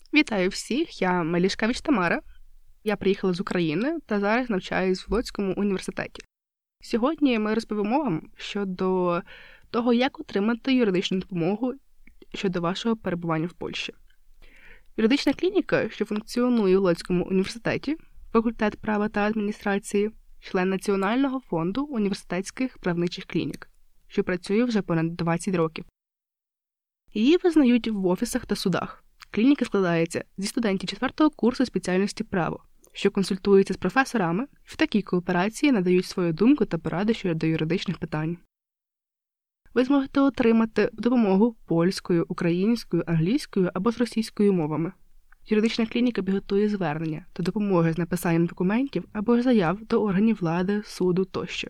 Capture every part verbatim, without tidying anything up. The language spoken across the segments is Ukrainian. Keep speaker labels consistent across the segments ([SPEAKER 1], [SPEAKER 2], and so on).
[SPEAKER 1] Вітаю всіх, я Малішкевич Тамара. Я приїхала з України та зараз навчаюсь в Лодському університеті. Сьогодні ми розповімо вам щодо того, як отримати юридичну допомогу щодо вашого перебування в Польщі. Юридична клініка, що функціонує у Лодському університеті, факультет права та адміністрації, член Національного фонду університетських правничих клінік, що працює вже понад двадцять років. Її визнають в офісах та судах. Клініка складається зі студентів четвертого курсу спеціальності право, що консультуються з професорами і в такій кооперації надають свою думку та поради щодо юридичних питань. Ви зможете отримати допомогу польською, українською, англійською або з російською мовами. Юридична клініка підготує звернення та допоможе з написанням документів або ж заяв до органів влади, суду тощо.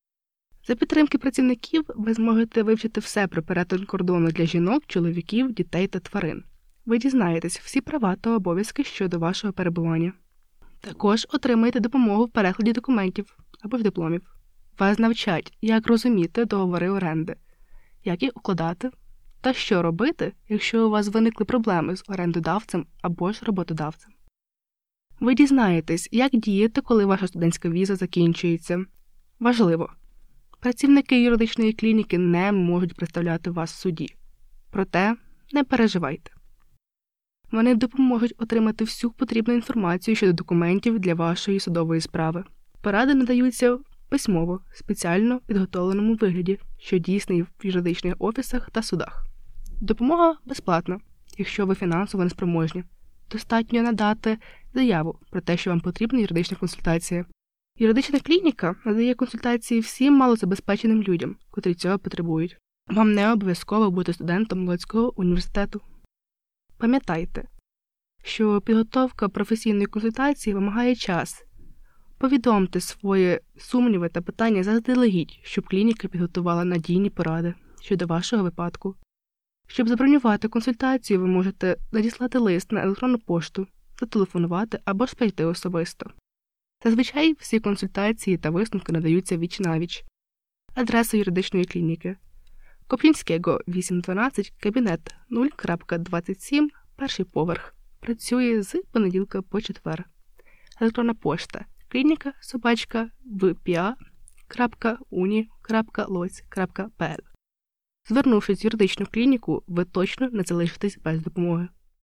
[SPEAKER 1] За підтримки працівників ви зможете вивчити все про перетин кордону для жінок, чоловіків, дітей та тварин. Ви дізнаєтесь всі права та обов'язки щодо вашого перебування. Також отримаєте допомогу в перекладі документів або ж дипломів. Вас навчать, як розуміти договори оренди, як їх укладати та що робити, якщо у вас виникли проблеми з орендодавцем або ж роботодавцем. Ви дізнаєтесь, як діяти, коли ваша студентська віза закінчується. Важливо! Працівники юридичної клініки не можуть представляти вас в суді. Проте не переживайте. Вони допоможуть отримати всю потрібну інформацію щодо документів для вашої судової справи. Поради надаються письмово, спеціально підготовленому вигляді, що дійсний в юридичних офісах та судах. Допомога безплатна, якщо ви фінансово неспроможні. Достатньо надати заяву про те, що вам потрібна юридична консультація. Юридична клініка надає консультації всім малозабезпеченим людям, котрі цього потребують. Вам не обов'язково бути студентом Лодського університету. Пам'ятайте, що підготовка професійної консультації вимагає час. Повідомте свої сумніви та питання заздалегідь, щоб клініка підготувала надійні поради щодо вашого випадку. Щоб забронювати консультацію, ви можете надіслати лист на електронну пошту, зателефонувати або ж прийти особисто. Зазвичай всі консультації та висновки надаються віч-навіч. Адреса юридичної клініки. Коплінського, вісім дванадцять, кабінет нуль двадцять сім, перший поверх. Працює з понеділка по четвер. Електронна пошта. Клініка собачка в пі а крапка уні крапка лоць крапка пе ел. Звернувшись в юридичну клініку, ви точно не залишитесь без допомоги.